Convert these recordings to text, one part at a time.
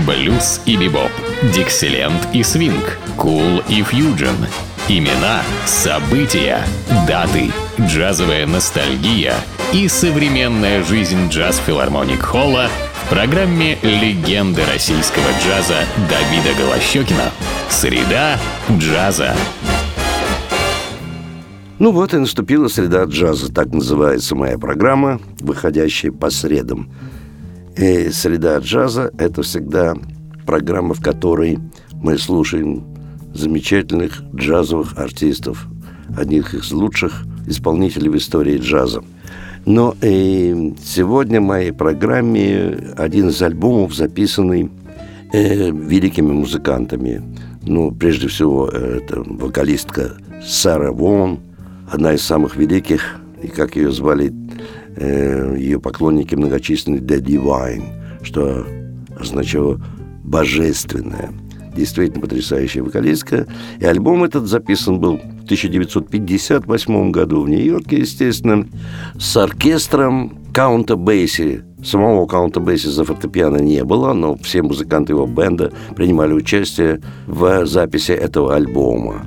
Блюз и бибоп, диксиленд и свинг, кул и фьюджен. Имена, события, даты, джазовая ностальгия и современная жизнь джаз-филармоник Холла в программе «Легенды российского джаза» Давида Голощёкина. Среда джаза. Ну вот и наступила среда джаза, так называется моя программа, выходящая по средам. И среда джаза – это всегда программа, в которой мы слушаем замечательных джазовых артистов, одних из лучших исполнителей в истории джаза. Но и сегодня в моей программе один из альбомов, записанный великими музыкантами. Ну, прежде всего, это вокалистка Сара Вон, одна из самых великих, и как ее звали ее поклонники многочисленные, The Divine, что означало «божественное». Действительно потрясающая вокалистка. И альбом этот записан был в 1958 году в Нью-Йорке, естественно, с оркестром Каунта Бейси. Самого Каунта Бейси за фортепиано не было, но все музыканты его бенда принимали участие в записи этого альбома.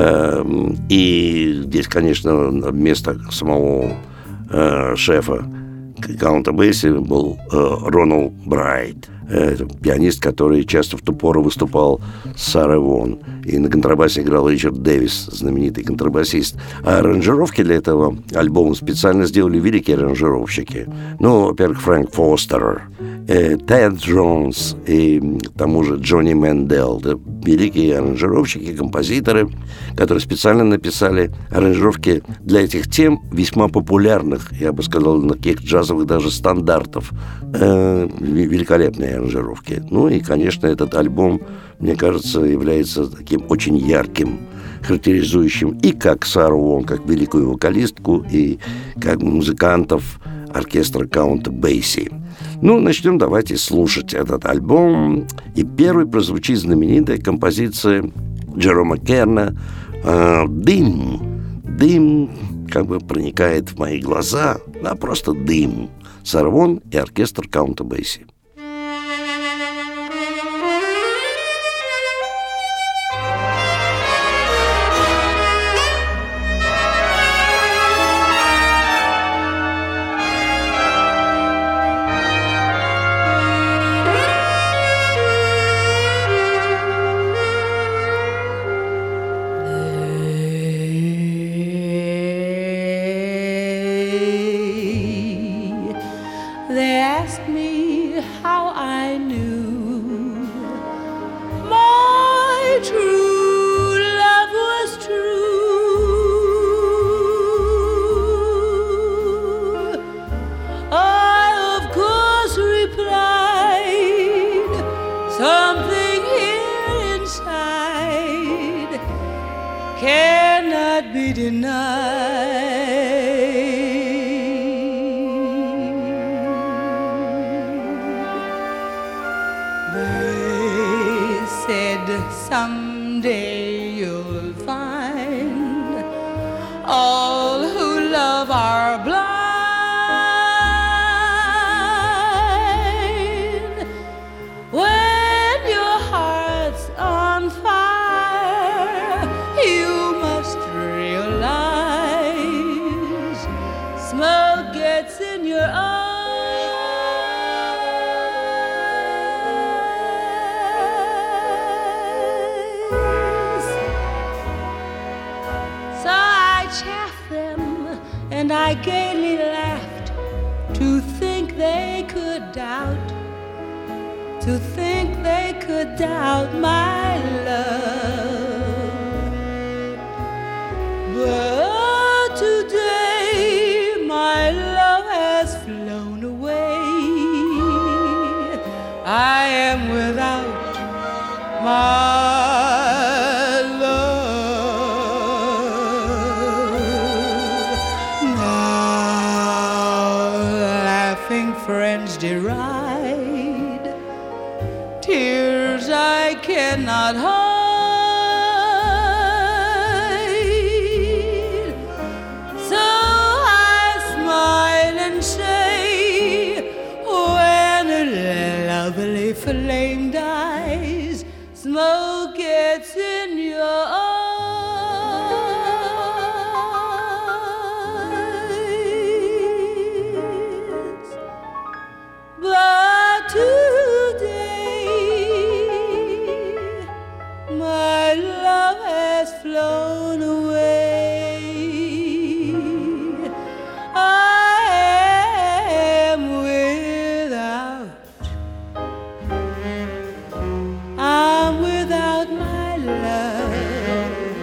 И здесь, конечно, вместо самого шефа Каунта Бейси был Рональд Брайт. Это пианист, который часто в ту пору выступал с Сарой Вон. И на контрабасе играл Ричард Дэвис, знаменитый контрабасист. А аранжировки для этого альбома специально сделали великие аранжировщики. Ну, во-первых, Фрэнк Фостер, Тед Джонс и к тому же Джонни Мэндел. Это великие аранжировщики, композиторы, которые специально написали аранжировки для этих тем, весьма популярных, я бы сказал, таких джазовых даже стандартов. Великолепные аранжировки. Ну и, конечно, этот альбом, мне кажется, является таким очень ярким, характеризующим и как Сару Вон, как великую вокалистку, и как музыкантов оркестра Каунта Бейси. Ну, начнем давайте слушать этот альбом. И первой прозвучит знаменитая композиция Джерома Керна «Дым». Дым как бы проникает в мои глаза, а просто дым. Сара Вон и оркестр Каунта Бейси. They asked me how I knew my true love was true. I, of course, replied, something here inside cannot be denied. Someday you'll find all who love are blind. When your heart's on fire, you must realize smoke gets in your eyes. And I gaily laughed to think they could doubt, to think they could doubt my love. But today my love has flown away. I am without my friends deride, tears I cannot hide. So I smile and say, when a lovely flame dies, smoke gets in your eyes. But today my love has flown away. I'm without my love,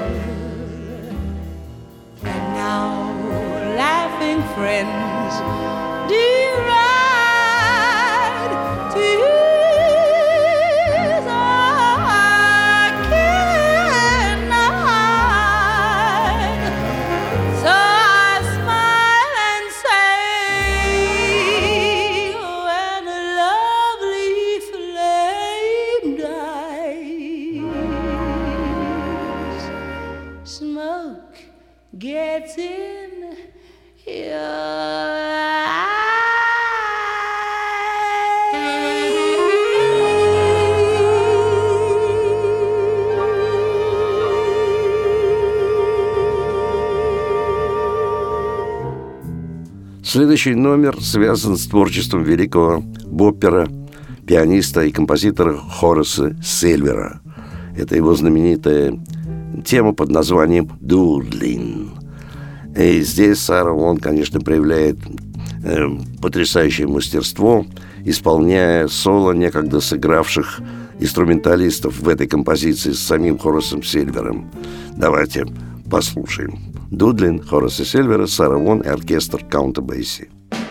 and now laughing friends deride tears I cannot hide. So I smile and say, when a lovely flame dies, smoke gets in your Следующий номер связан с творчеством великого боппера, пианиста и композитора Хораса Сильвера. Это его знаменитая тема под названием «Дудлин». И здесь Сара Вон, конечно, проявляет потрясающее мастерство, исполняя соло некогда сыгравших инструменталистов в этой композиции с самим Хорасом Сильвером. Давайте послушаем. «Дудлин» Хораса Сильвера, Сара Вон и оркестр Каунта Бейси.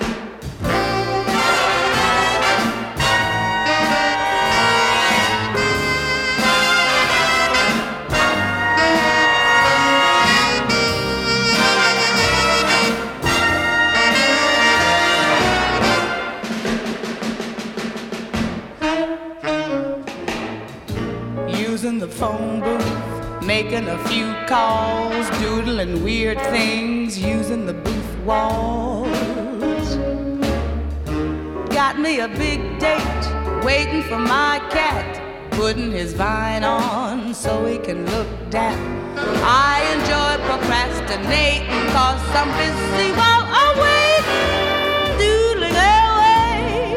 Using the phone booth, making a few calls, doodling weird things, using the booth walls. Got me a big date, waiting for my cat, putting his vine on so he can look dap. I enjoy procrastinating, cause I'm busy while I'm waiting, doodling away.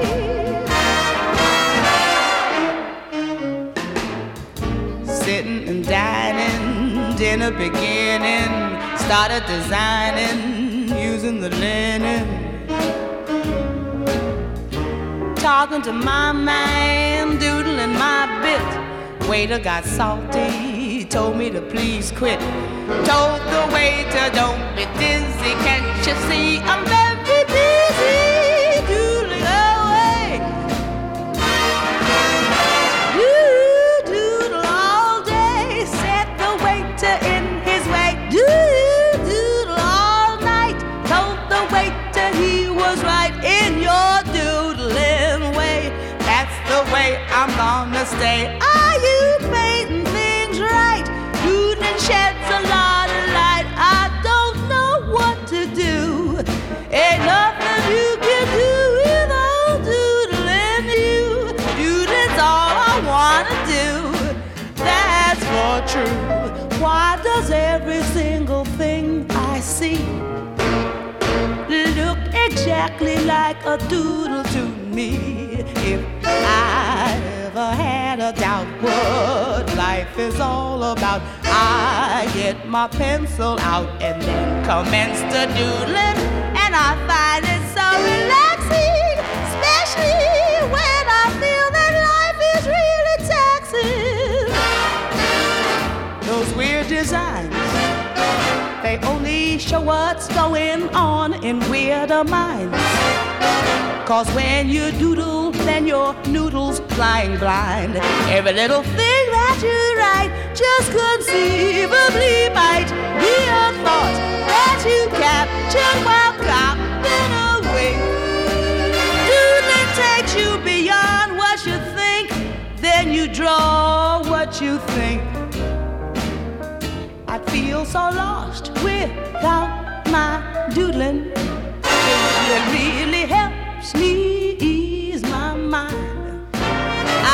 Sitting and dining, dinner beginning, started designing, using the linen. Talking to my man, doodling my bit. Waiter got salty, told me to please quit. Told the waiter, don't be dizzy, can't you see I'm very busy, doodling away. Doodle all day, set the waiter in his way. Doodle all night, told the waiter he was right in your doodling way. That's the way I'm gonna stay. Are you painting things right? Doodling sheds a lot of light. I don't know what to do. Ain't nothing you can do without doodling you. Doodling's all I wanna do. That's for true. Why does every single thing I see look exactly like a doodle to me? If I ever had a doubt what life is all about, I get my pencil out and then commence to doodling, and I find it so relaxing, especially when I feel that life is really taxing. Those weird designs, they only show what's going on in weirder minds. Cause when you doodle, then your noodle's flying blind. Every little thing that you write just conceivably might be a thought that you captured while copying away. Doodling takes you beyond what you think, then you draw what you think. I'd feel so lost without my doodling. It really helps me ease my mind.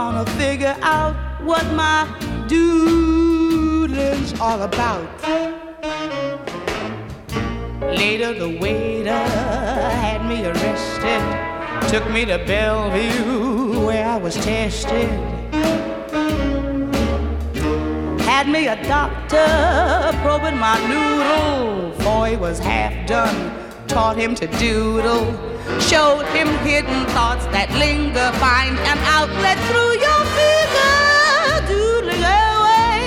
gonna figure out what my doodling's all about. Later the waiter had me arrested, took me to Bellevue where I was tested. Had me a doctor probing my noodle, for he was half done, taught him to doodle. Showed him hidden thoughts that linger, find an outlet through your figure, doodling away.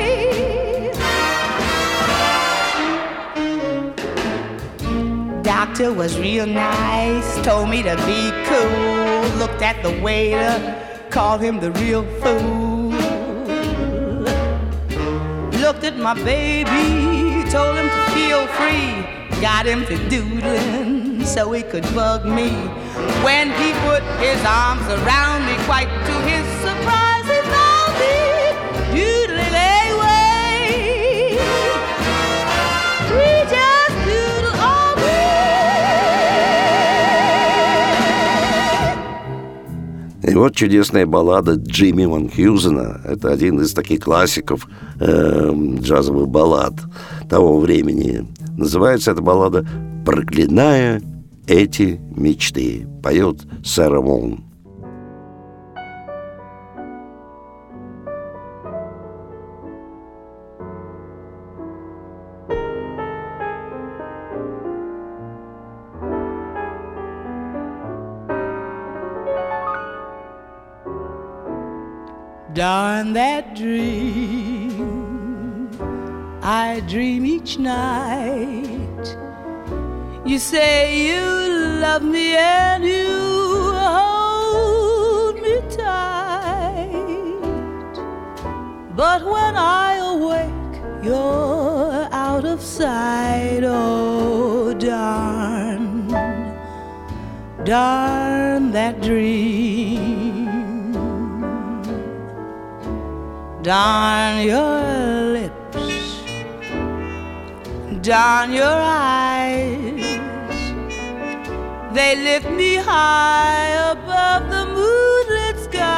Doctor was real nice, told me to be cool, looked at the waiter, called him the real fool. Looked at my baby, told him to feel free, got him to doodling so he could bug me. When he put his arms around me, quite to his surprise, he found me doodling away. We just doodle all day. И вот чудесная баллада Джимми Ван Хьюзена. Это один из таких классиков джазовых баллад того времени. Называется эта баллада «Проклиная эти мечты». Поет Сара Вон. Darn that dream I dream each night. You say you love me and you hold me tight, but when I awake you're out of sight. Oh, darn, darn that dream. Darn your lips, darn your eyes, they lift me high above the moonlit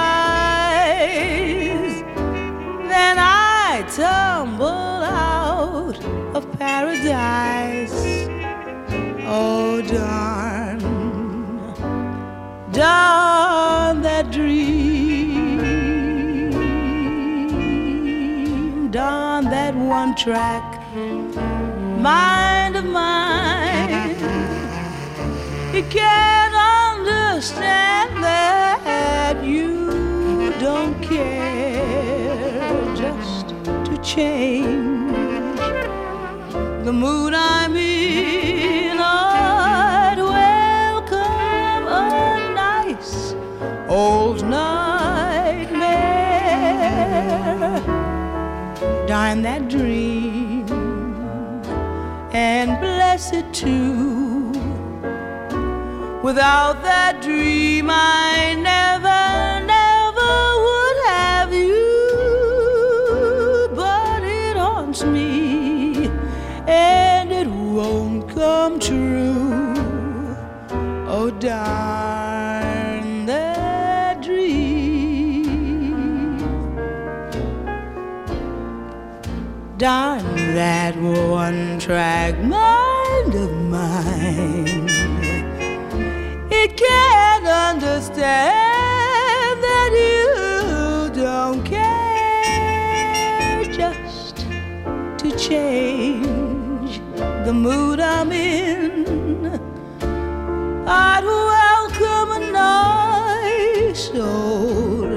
skies. Then I tumble out of paradise. Oh, darn, darn that dream, darn that one track mind of mine. It can't understand that you don't care just to change the mood I'm in. I'd welcome a nice old nightmare. Darn that dream, and bless it too. Without that dream I never, never would have you. But it haunts me and it won't come true. Oh, darn that dream, darn that one-track mind of mine. It can't understand that you don't care just to change the mood I'm in. I'd welcome a nice old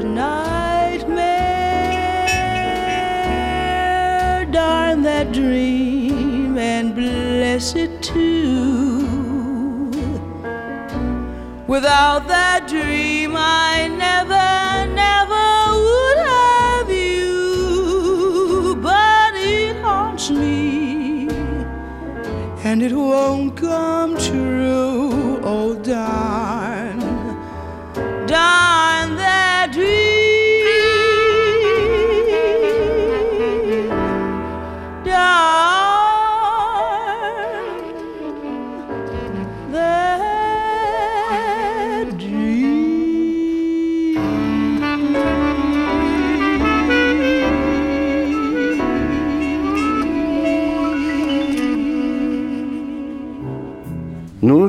nightmare. Darn that dream and bless it too. Without that dream I never, never would have you. But it haunts me and it won't come true. Oh, darn, darn that dream, darn that dream.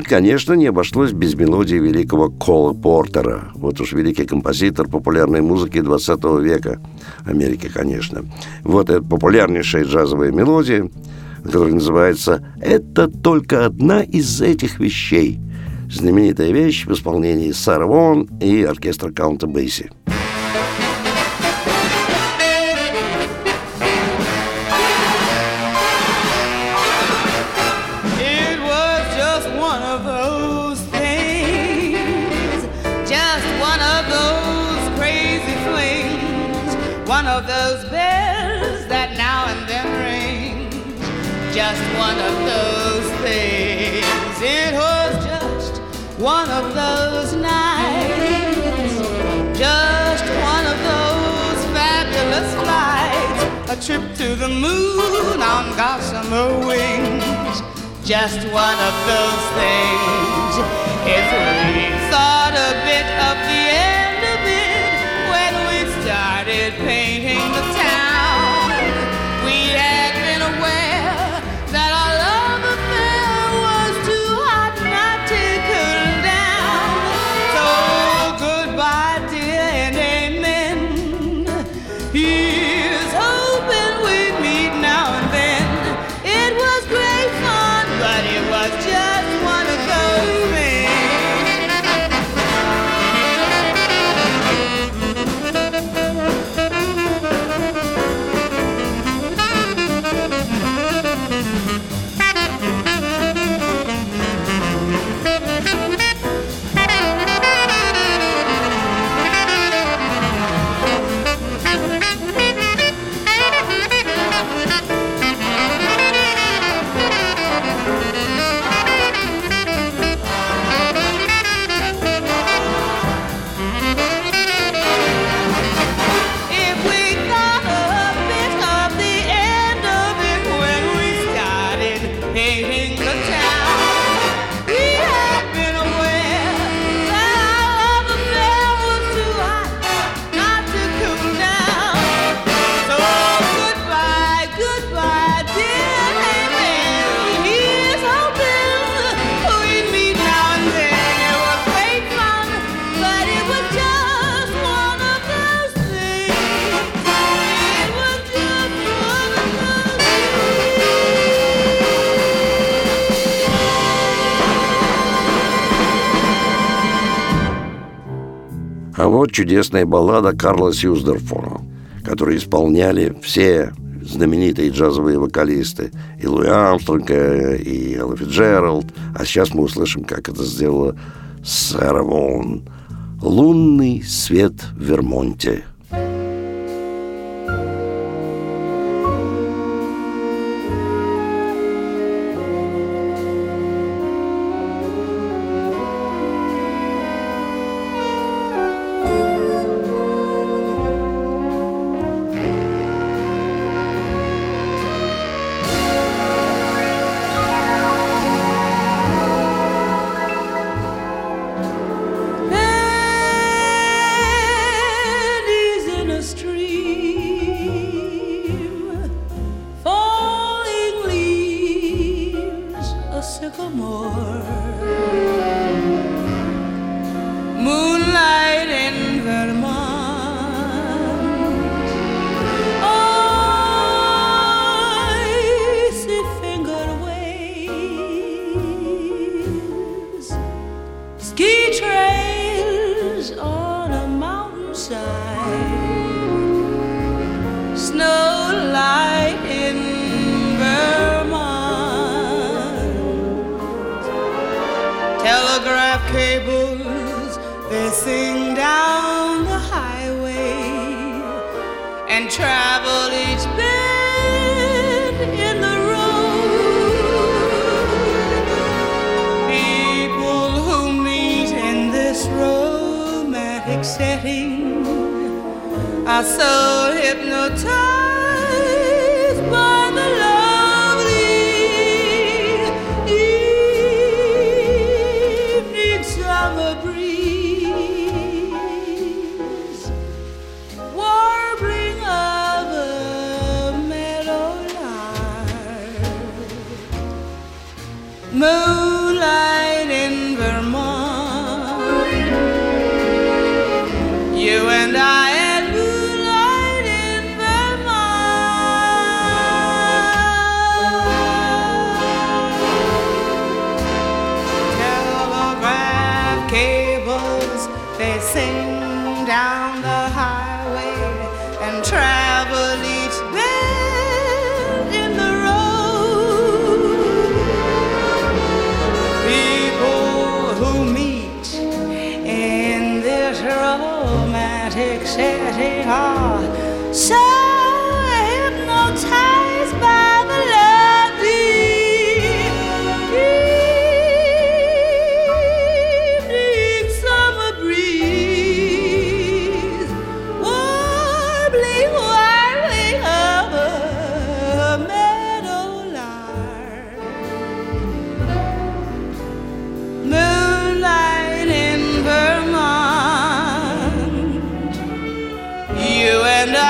конечно, не обошлось без мелодии великого Кола Портера. Вот уж великий композитор популярной музыки 20 века. Америки, конечно. Вот эта популярнейшая джазовая мелодия, которая называется «Это только одна из этих вещей». Знаменитая вещь в исполнении Сары Вон и оркестра Каунта Бейси. One of those bells that now and then ring, just one of those things. It was just one of those nights, just one of those fabulous flights, a trip to the moon on gossamer wings, just one of those things. If we thought a bit of the end of it when we started painting the town, we had been aware that our love affair was too hot not to cool down. So goodbye, dear, and amen. Here's hoping we meet now and then. It was great fun, but it was just one of those things. А вот чудесная баллада Карла Сьюздорфа, которую исполняли все знаменитые джазовые вокалисты. И Луи Армстронг, и Элла Фицджеральд. А сейчас мы услышим, как это сделала Сара Вон. «Лунный свет в Вермонте». Moonlight in Vermont, icy fingered waves, ski trails on a mountainside, snow light in Vermont, telegraph cables. They sing down the highway and travel each bend in the road. People who meet in this romantic setting are so hypnotized by the lovely evening summer breeze. Moonlight racing down the highway and travel each bend in the road. People who meet in this romantic setting are so hypnotized by the lovely evening summer breeze, warbling over a meadowlark, moonlight in Vermont, you and I.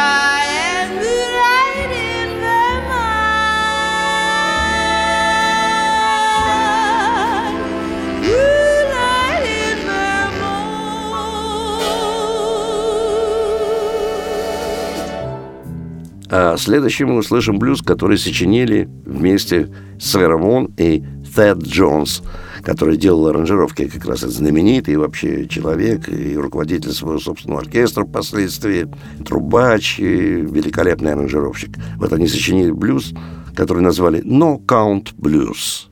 А следующим мы услышим блюз, который сочинили вместе Сара Вон и Thad Jones, который делал аранжировки, как раз знаменитый и вообще человек, и руководитель своего собственного оркестра впоследствии, трубач и великолепный аранжировщик. Вот они сочинили блюз, который назвали «No Count Blues».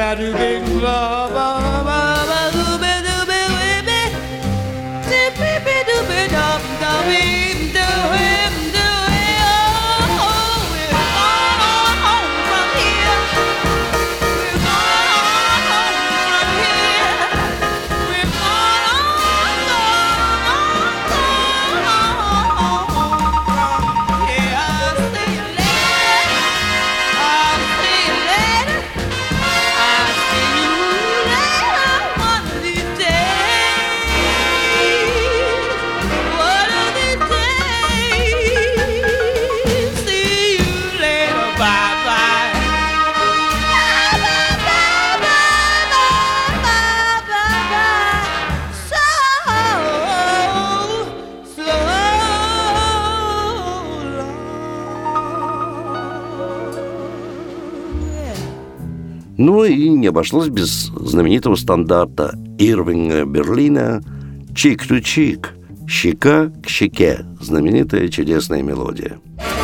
Ну и не обошлось без знаменитого стандарта Ирвинга Берлина «Чик ту чик», «Щека к щеке», знаменитая чудесная мелодия.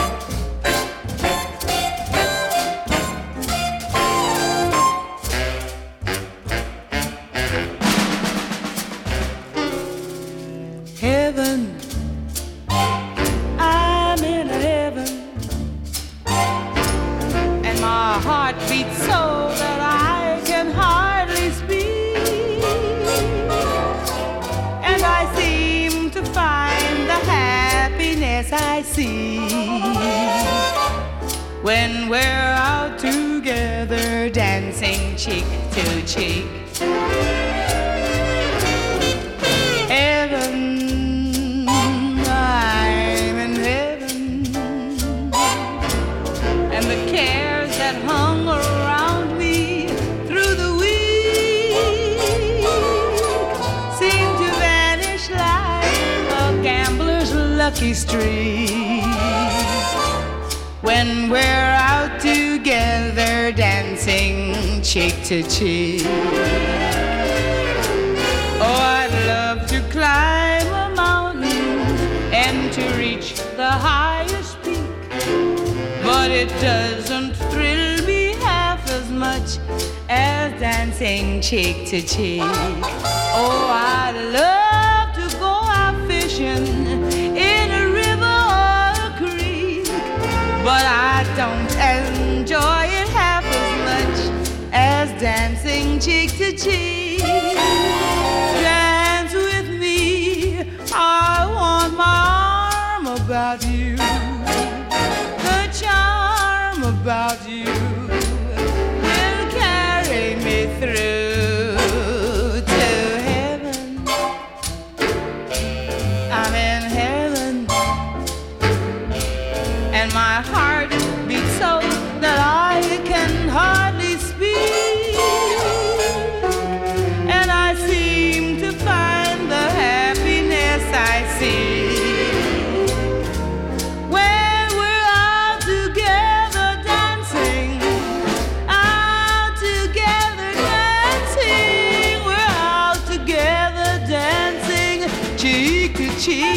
Heaven, I'm in heaven, and my heart beats so that I can hardly speak, and I seem to find the happiness I see when we're out together dancing cheek to cheek. Heaven, I'm in heaven, and the cares that hung around me through the week seem to vanish like a gambler's lucky streak when we're out together dancing cheek to cheek. Oh, I'd love to climb a mountain and to reach the highest peak, but it doesn't thrill me half as much as dancing cheek to cheek. Oh, I'd love to go out fishing in a river or a creek, but I don't enjoy it half as much as dancing cheek to cheek. Dance with me, I want my arm about you, the charm about you will carry me through to heaven. I'm in heaven, and my heart beats so that I can hardly speak, and I seem to find the happiness I see when we're all together dancing, all together dancing, we're all together dancing cheek to cheek.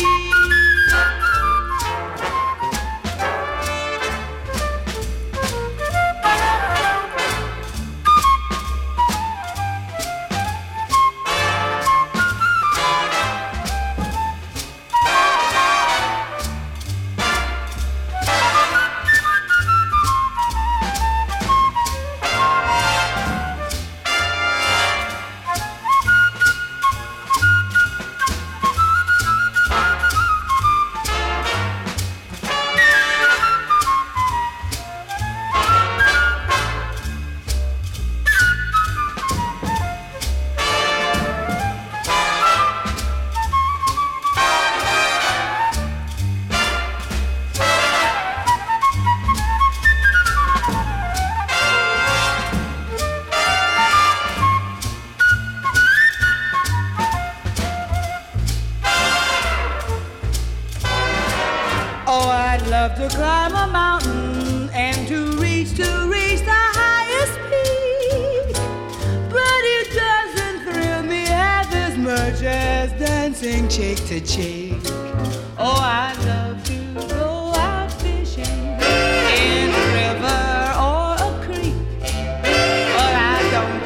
To climb a mountain and to reach the highest peak, but it doesn't thrill me half as much as dancing cheek to cheek. Oh, I'd love to go out fishing in a river or a creek, but I don't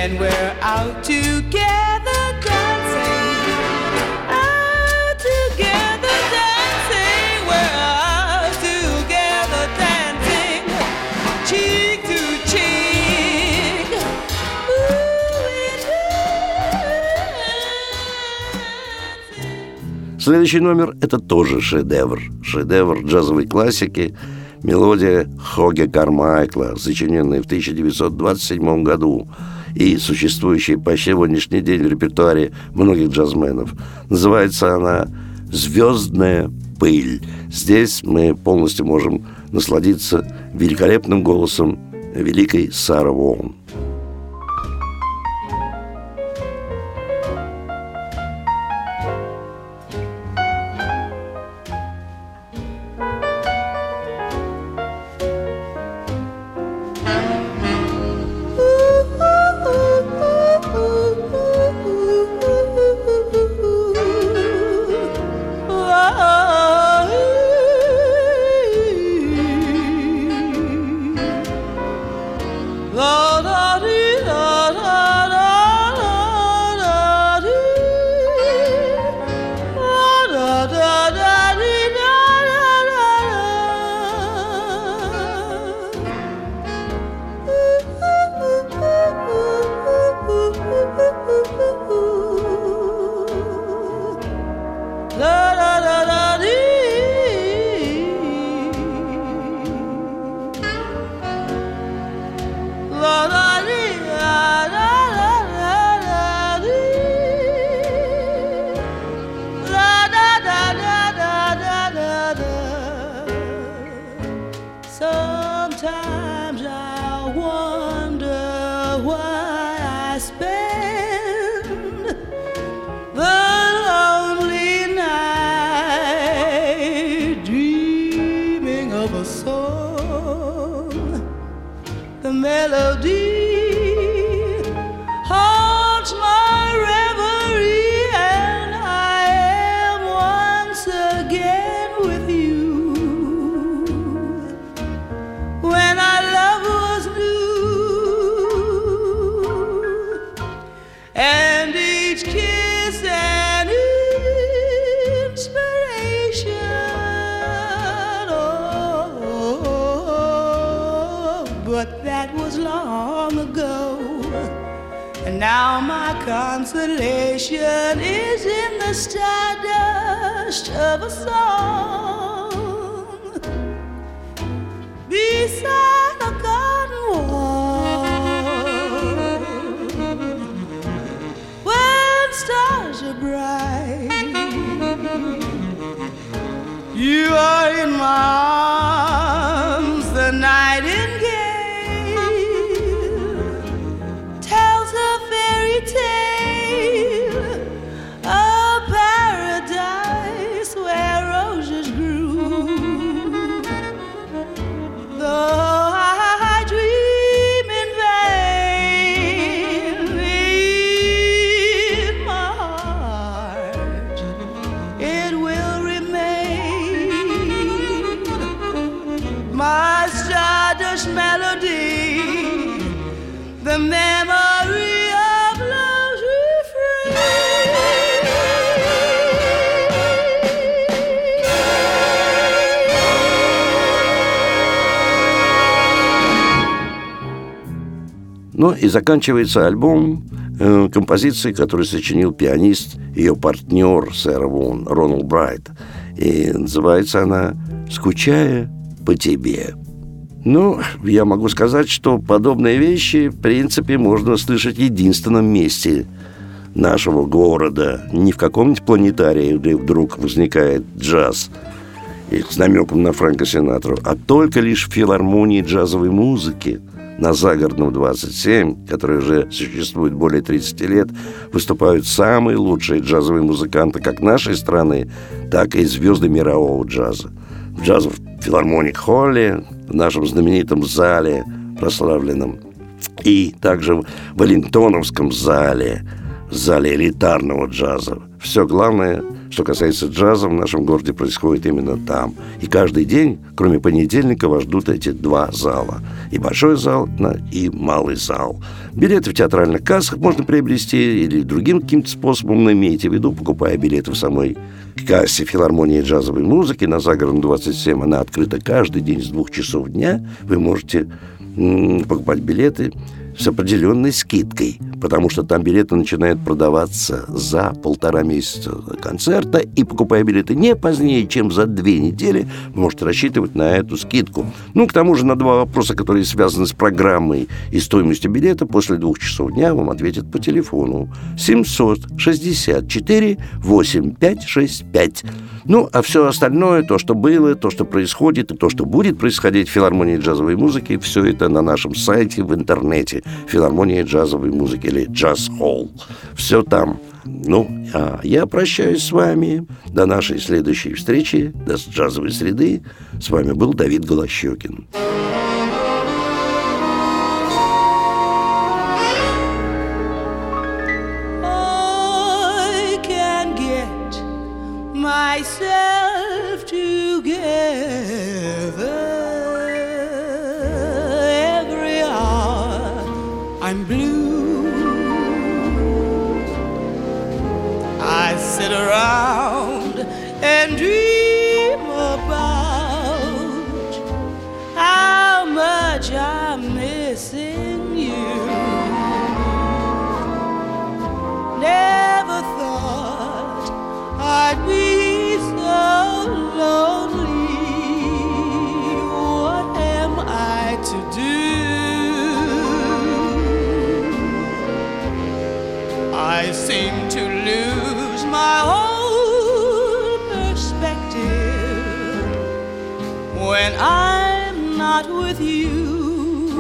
when we're out together dancing, out together dancing, we're out together dancing, cheek to cheek. Следующий номер – это тоже шедевр джазовой классики, мелодия Хоге Кармайкла, сочиненная в 1927 году и существующая по сегодняшний день в репертуаре многих джазменов. Называется она «Звездная пыль». Здесь мы полностью можем насладиться великолепным голосом великой Сары Вон. Sometimes I wonder why I spend the lonely night dreaming of a song. The melody haunts my reverie, and I am once again with you. When our love was new, and each kiss an inspiration. Oh, but that was long ago, and now my consolation is in the stardust of a song beside a garden wall, when stars are bright. You are in my arms, the nightingale tells a fairy tale, a paradise where roses grew. Though I dream in vain, in my heart it will remain, my stardust melody, the memory of love's Ну и заканчивается альбом композицией, которую сочинил пианист, ее партнер Сара Вон, Рональд Брайт. И называется она «Скучая по тебе». Ну, я могу сказать, что подобные вещи, в принципе, можно слышать в единственном месте нашего города. Не в каком-нибудь планетарии, где вдруг возникает джаз и с намеком на Фрэнка Синатру, а только лишь в филармонии джазовой музыки на Загородном 27, который уже существует более 30 лет, выступают самые лучшие джазовые музыканты как нашей страны, так и звезды мирового джаза. В джазовом филармоник-холле, в нашем знаменитом зале, прославленном, и также в Веллингтоновском зале элитарного джаза. Все главное что касается джаза, в нашем городе происходит именно там. И каждый день, кроме понедельника, вас ждут эти два зала. И большой зал, и малый зал. Билеты в театральных кассах можно приобрести или другим каким-то способом, но имейте в виду, покупая билеты в самой кассе филармонии джазовой музыки на Загородном 27, она открыта каждый день с 2 часов дня. Вы можете покупать билеты с определенной скидкой, потому что там билеты начинают продаваться за 1,5 месяца концерта, и, покупая билеты не позднее, чем за 2 недели, вы можете рассчитывать на эту скидку. К тому же на 2 вопроса, которые связаны с программой и стоимостью билета, после 2 часов дня вам ответят по телефону 764-8565. А все остальное, то, что было, то, что происходит, и то, что будет происходить в филармонии джазовой музыки, все это на нашем сайте в интернете. Филармония джазовой музыки или Джаз Холл. Все там. А я прощаюсь с вами. До нашей следующей встречи, до джазовой среды. С вами был Давид Голощёкин. Myself together every hour I'm blue. I sit around and dream about how much I'm missing you. Never thought I'd be lonely. What am I to do? I seem to lose my whole perspective when I'm not with you.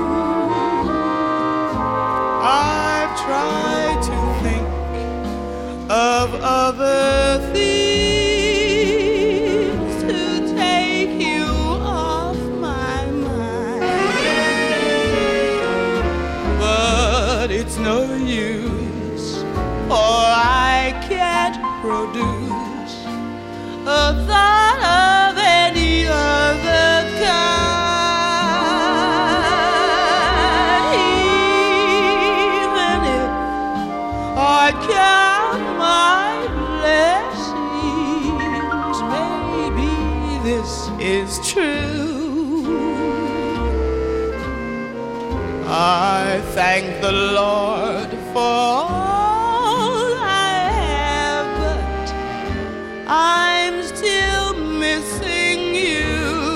I've tried to think of other things no use, for I can't produce a thought of any other kind. Even if I count my blessings, maybe this is true. I thank the Lord for all I have, but I'm still missing you.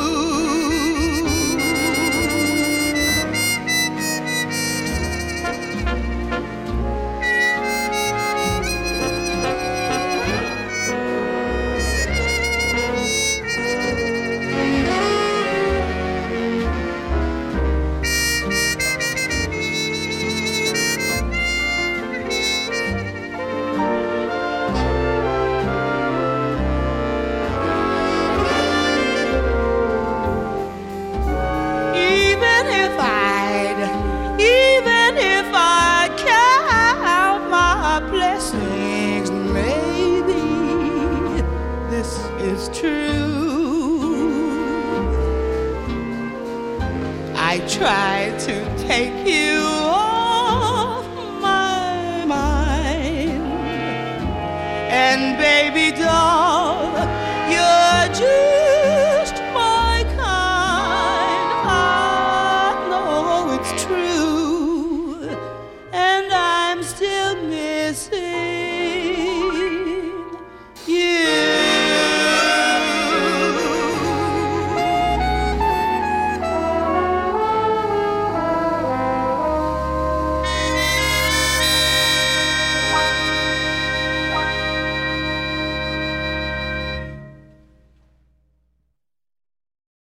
I try to take you off my mind, and baby, don't